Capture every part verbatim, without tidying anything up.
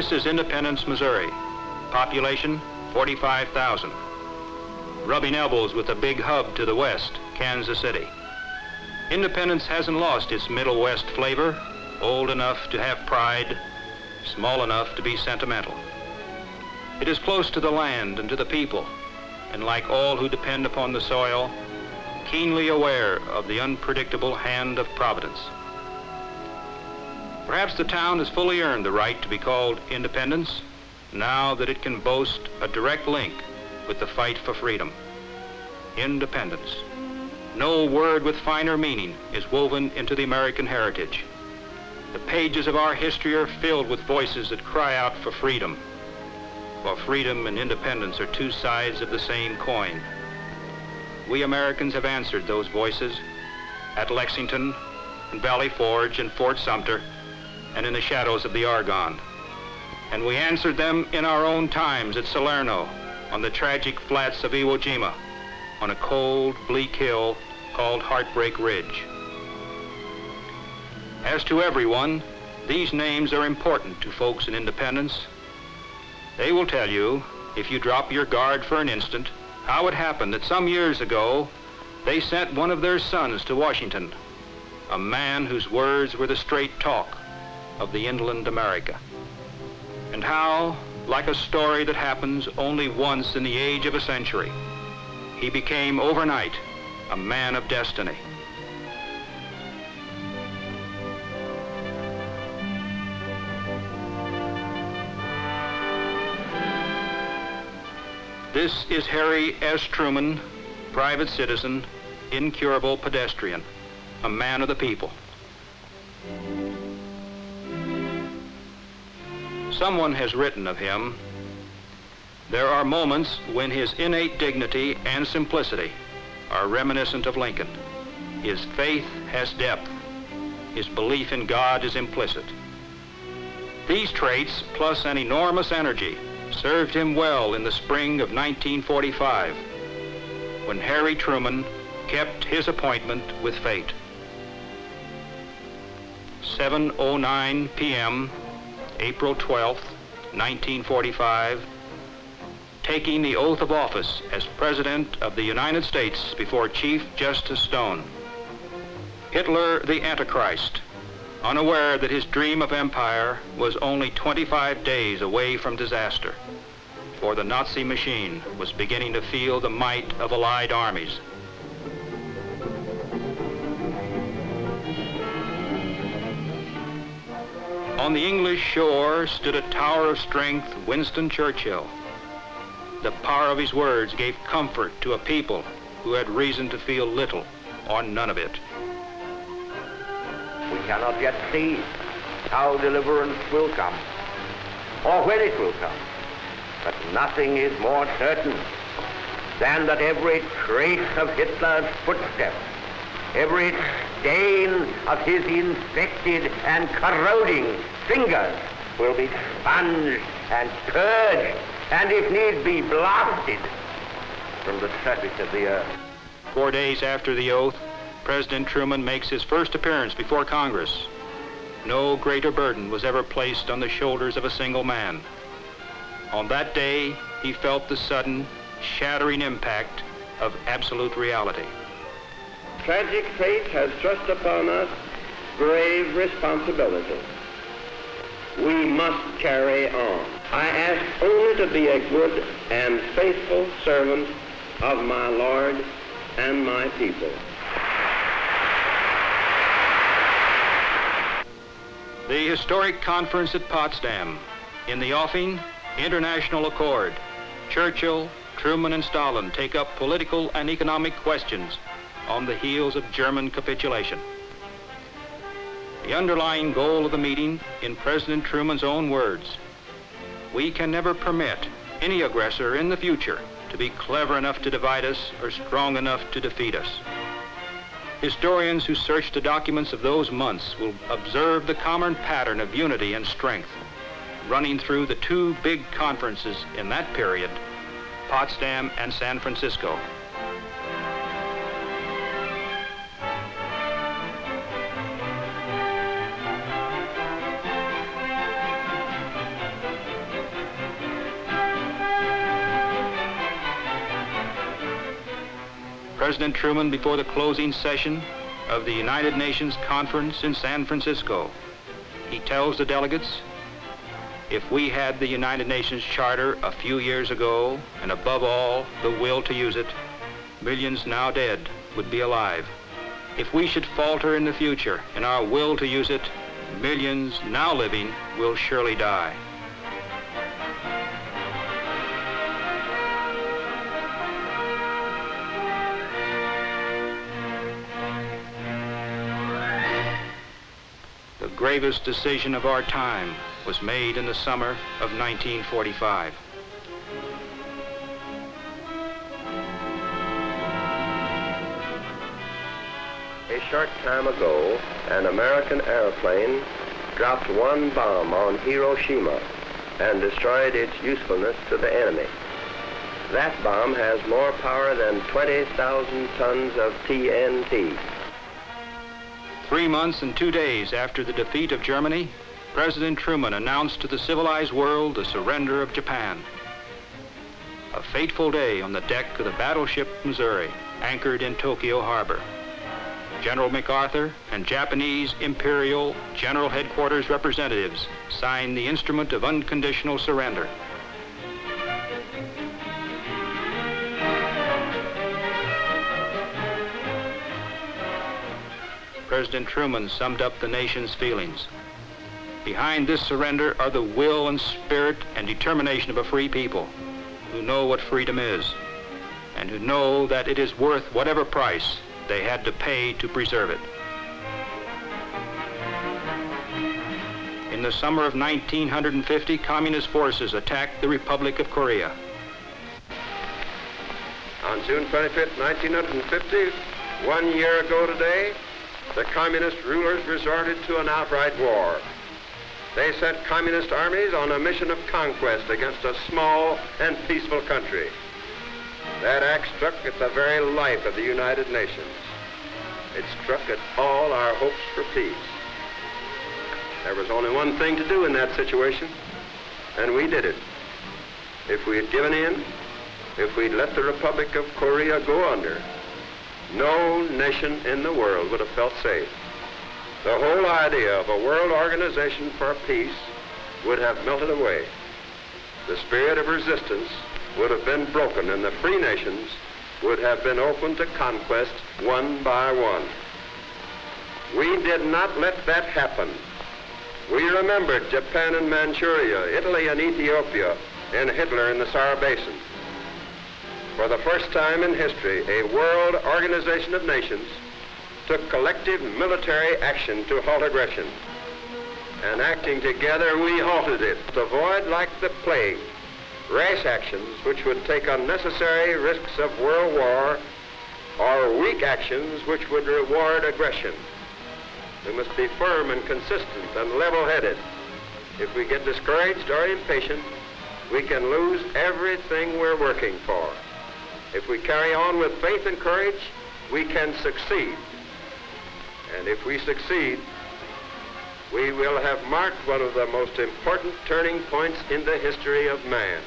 This is Independence, Missouri. Population, forty-five thousand. Rubbing elbows with the big hub to the west, Kansas City. Independence hasn't lost its Middle West flavor, old enough to have pride, small enough to be sentimental. It is close to the land and to the people, and like all who depend upon the soil, keenly aware of the unpredictable hand of Providence. Perhaps the town has fully earned the right to be called Independence, now that it can boast a direct link with the fight for freedom. Independence. No word with finer meaning is woven into the American heritage. The pages of our history are filled with voices that cry out for freedom, while freedom and independence are two sides of the same coin. We Americans have answered those voices at Lexington, and Valley Forge, and Fort Sumter, and in the shadows of the Argonne. And we answered them in our own times at Salerno, on the tragic flats of Iwo Jima, on a cold, bleak hill called Heartbreak Ridge. As to everyone, these names are important to folks in Independence. They will tell you, if you drop your guard for an instant, how it happened that some years ago, they sent one of their sons to Washington, a man whose words were the straight talk of the inland America. And how, like a story that happens only once in the age of a century, he became overnight a man of destiny. This is Harry S. Truman, private citizen, incurable pedestrian, a man of the people. Someone has written of him, there are moments when his innate dignity and simplicity are reminiscent of Lincoln. His faith has depth. His belief in God is implicit. These traits, plus an enormous energy, served him well in the spring of nineteen forty-five, when Harry Truman kept his appointment with fate. seven oh nine p m, April twelfth, nineteen forty-five, taking the oath of office as President of the United States before Chief Justice Stone. Hitler the Antichrist, unaware that his dream of empire was only twenty-five days away from disaster, for the Nazi machine was beginning to feel the might of Allied armies. On the English shore stood a tower of strength, Winston Churchill. The power of his words gave comfort to a people who had reason to feel little or none of it. We cannot yet see how deliverance will come, or when it will come. But nothing is more certain than that every trace of Hitler's footsteps, every stain of his infected and corroding fingers will be sponged and purged, and if need be, blasted from the surface of the earth. Four days after the oath, President Truman makes his first appearance before Congress. No greater burden was ever placed on the shoulders of a single man. On that day, he felt the sudden, shattering impact of absolute reality. Tragic fate has thrust upon us grave responsibility. We must carry on. I ask only to be a good and faithful servant of my Lord and my people. The historic conference at Potsdam. In the offing, international accord. Churchill, Truman, and Stalin take up political and economic questions on the heels of German capitulation. The underlying goal of the meeting, in President Truman's own words, we can never permit any aggressor in the future to be clever enough to divide us or strong enough to defeat us. Historians who search the documents of those months will observe the common pattern of unity and strength running through the two big conferences in that period, Potsdam and San Francisco. President Truman, before the closing session of the United Nations Conference in San Francisco, he tells the delegates, if we had the United Nations Charter a few years ago, and above all, the will to use it, millions now dead would be alive. If we should falter in the future in our will to use it, millions now living will surely die. The gravest decision of our time was made in the summer of nineteen forty-five. A short time ago, an American airplane dropped one bomb on Hiroshima and destroyed its usefulness to the enemy. That bomb has more power than twenty thousand tons of T N T. Three months and two days after the defeat of Germany, President Truman announced to the civilized world the surrender of Japan. A fateful day on the deck of the battleship Missouri, anchored in Tokyo Harbor. General MacArthur and Japanese Imperial General Headquarters representatives signed the instrument of unconditional surrender. President Truman summed up the nation's feelings. Behind this surrender are the will and spirit and determination of a free people who know what freedom is and who know that it is worth whatever price they had to pay to preserve it. In the summer of nineteen fifty, communist forces attacked the Republic of Korea. On June twenty-fifth, nineteen fifty, one year ago today, the communist rulers resorted to an outright war. They sent communist armies on a mission of conquest against a small and peaceful country. That act struck at the very life of the United Nations. It struck at all our hopes for peace. There was only one thing to do in that situation, and we did it. If we had given in, if we'd let the Republic of Korea go under, no nation in the world would have felt safe. The whole idea of a world organization for peace would have melted away. The spirit of resistance would have been broken, and the free nations would have been open to conquest one by one. We did not let that happen. We remembered Japan and Manchuria, Italy and Ethiopia, and Hitler in the Saar Basin. For the first time in history, a world organization of nations took collective military action to halt aggression. And acting together, we halted it to avoid, like the plague, rash actions which would take unnecessary risks of world war or weak actions which would reward aggression. We must be firm and consistent and level-headed. If we get discouraged or impatient, we can lose everything we're working for. If we carry on with faith and courage, we can succeed. And if we succeed, we will have marked one of the most important turning points in the history of man.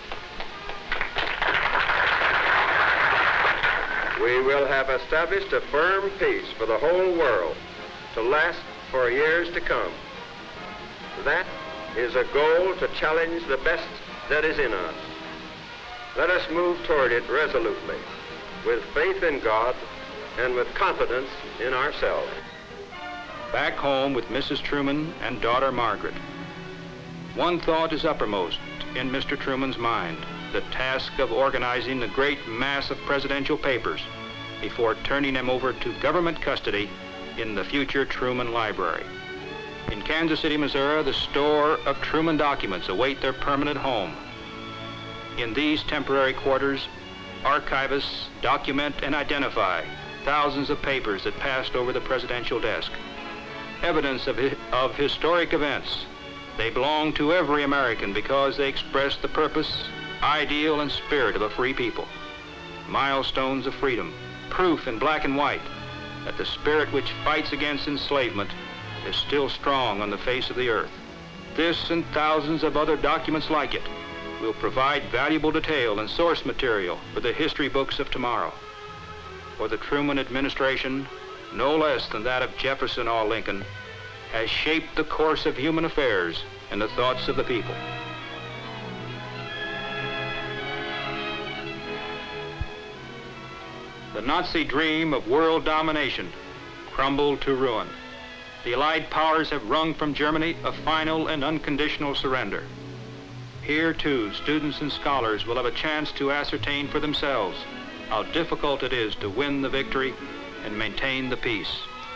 We will have established a firm peace for the whole world to last for years to come. That is a goal to challenge the best that is in us. Let us move toward it resolutely, with faith in God and with confidence in ourselves. Back home with Missus Truman and daughter Margaret, one thought is uppermost in Mister Truman's mind: the task of organizing the great mass of presidential papers before turning them over to government custody in the future Truman Library. In Kansas City, Missouri, the store of Truman documents await their permanent home. In these temporary quarters, archivists document and identify thousands of papers that passed over the presidential desk. Evidence of, hi of historic events. They belong to every American because they express the purpose, ideal, and spirit of a free people. Milestones of freedom, proof in black and white that the spirit which fights against enslavement is still strong on the face of the earth. This and thousands of other documents like it will provide valuable detail and source material for the history books of tomorrow. for the Truman administration, no less than that of Jefferson or Lincoln, has shaped the course of human affairs and the thoughts of the people. The Nazi dream of world domination crumbled to ruin. The Allied powers have wrung from Germany a final and unconditional surrender. Here, too, students and scholars will have a chance to ascertain for themselves how difficult it is to win the victory and maintain the peace.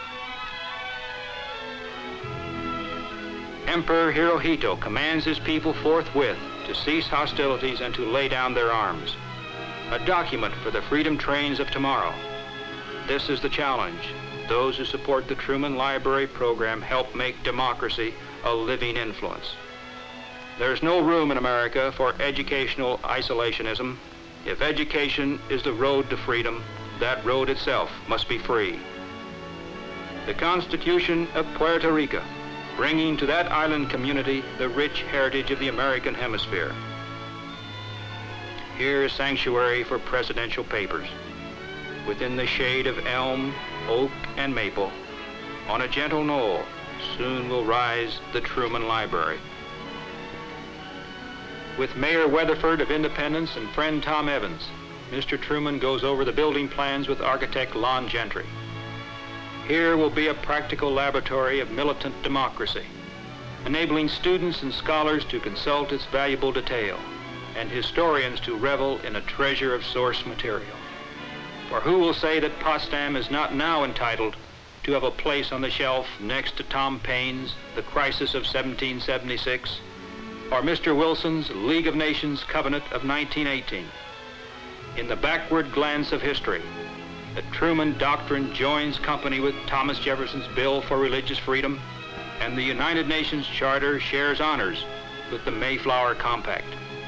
Emperor Hirohito commands his people forthwith to cease hostilities and to lay down their arms. A document for the freedom trains of tomorrow. This is the challenge. Those who support the Truman Library program help make democracy a living influence. There's no room in America for educational isolationism. If education is the road to freedom, that road itself must be free. The Constitution of Puerto Rico, bringing to that island community the rich heritage of the American hemisphere. Here is sanctuary for presidential papers. Within the shade of elm, oak, and maple, on a gentle knoll, soon will rise the Truman Library. With Mayor Weatherford of Independence and friend Tom Evans, Mister Truman goes over the building plans with architect Lon Gentry. Here will be a practical laboratory of militant democracy, enabling students and scholars to consult its valuable detail, and historians to revel in a treasure of source material. For who will say that Potsdam is not now entitled to have a place on the shelf next to Tom Paine's The Crisis of seventeen seventy-six, or Mister Wilson's League of Nations Covenant of nineteen eighteen? In the backward glance of history, the Truman Doctrine joins company with Thomas Jefferson's Bill for Religious Freedom, and the United Nations Charter shares honors with the Mayflower Compact.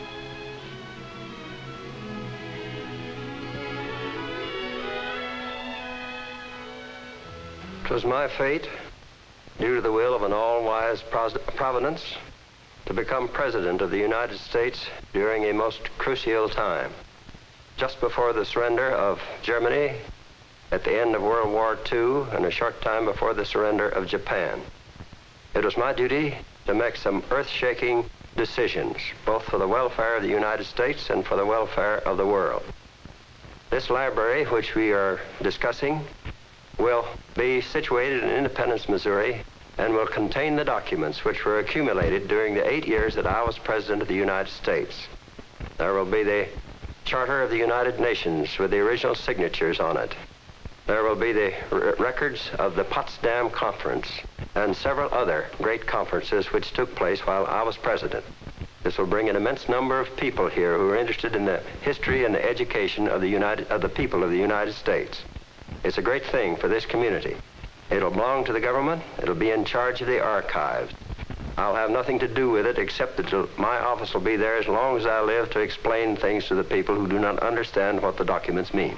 It was my fate, due to the will of an all-wise providence, to become President of the United States during a most crucial time. Just before the surrender of Germany, at the end of World War Two, and a short time before the surrender of Japan. It was my duty to make some earth-shaking decisions, both for the welfare of the United States and for the welfare of the world. This library, which we are discussing, will be situated in Independence, Missouri, and will contain the documents which were accumulated during the eight years that I was President of the United States. There will be the Charter of the United Nations with the original signatures on it. There will be the r records of the Potsdam Conference and several other great conferences which took place while I was President. This will bring an immense number of people here who are interested in the history and the education of the, United, of the people of the United States. It's a great thing for this community. It'll belong to the government. It'll be in charge of the archives. I'll have nothing to do with it except that my office will be there as long as I live to explain things to the people who do not understand what the documents mean.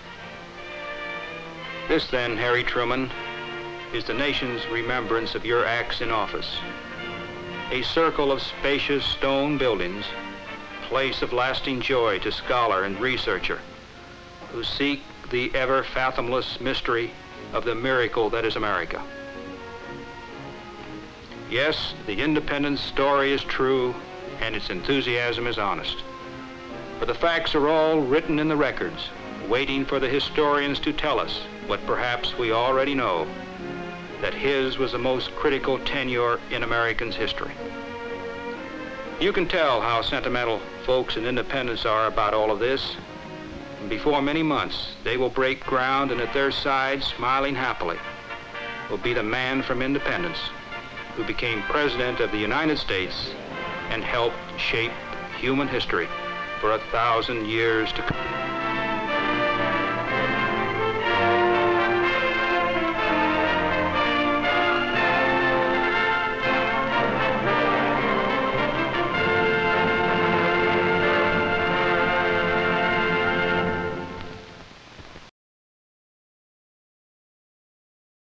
This then, Harry Truman, is the nation's remembrance of your acts in office. A circle of spacious stone buildings, place of lasting joy to scholar and researcher who seek the ever fathomless mystery of the miracle that is America. Yes, the independence story is true and its enthusiasm is honest. For the facts are all written in the records, waiting for the historians to tell us what perhaps we already know, that his was the most critical tenure in Americans' history. You can tell how sentimental folks in Independence are about all of this. And before many months, they will break ground, and at their side, smiling happily, will be the man from Independence who became President of the United States and helped shape human history for a thousand years to come.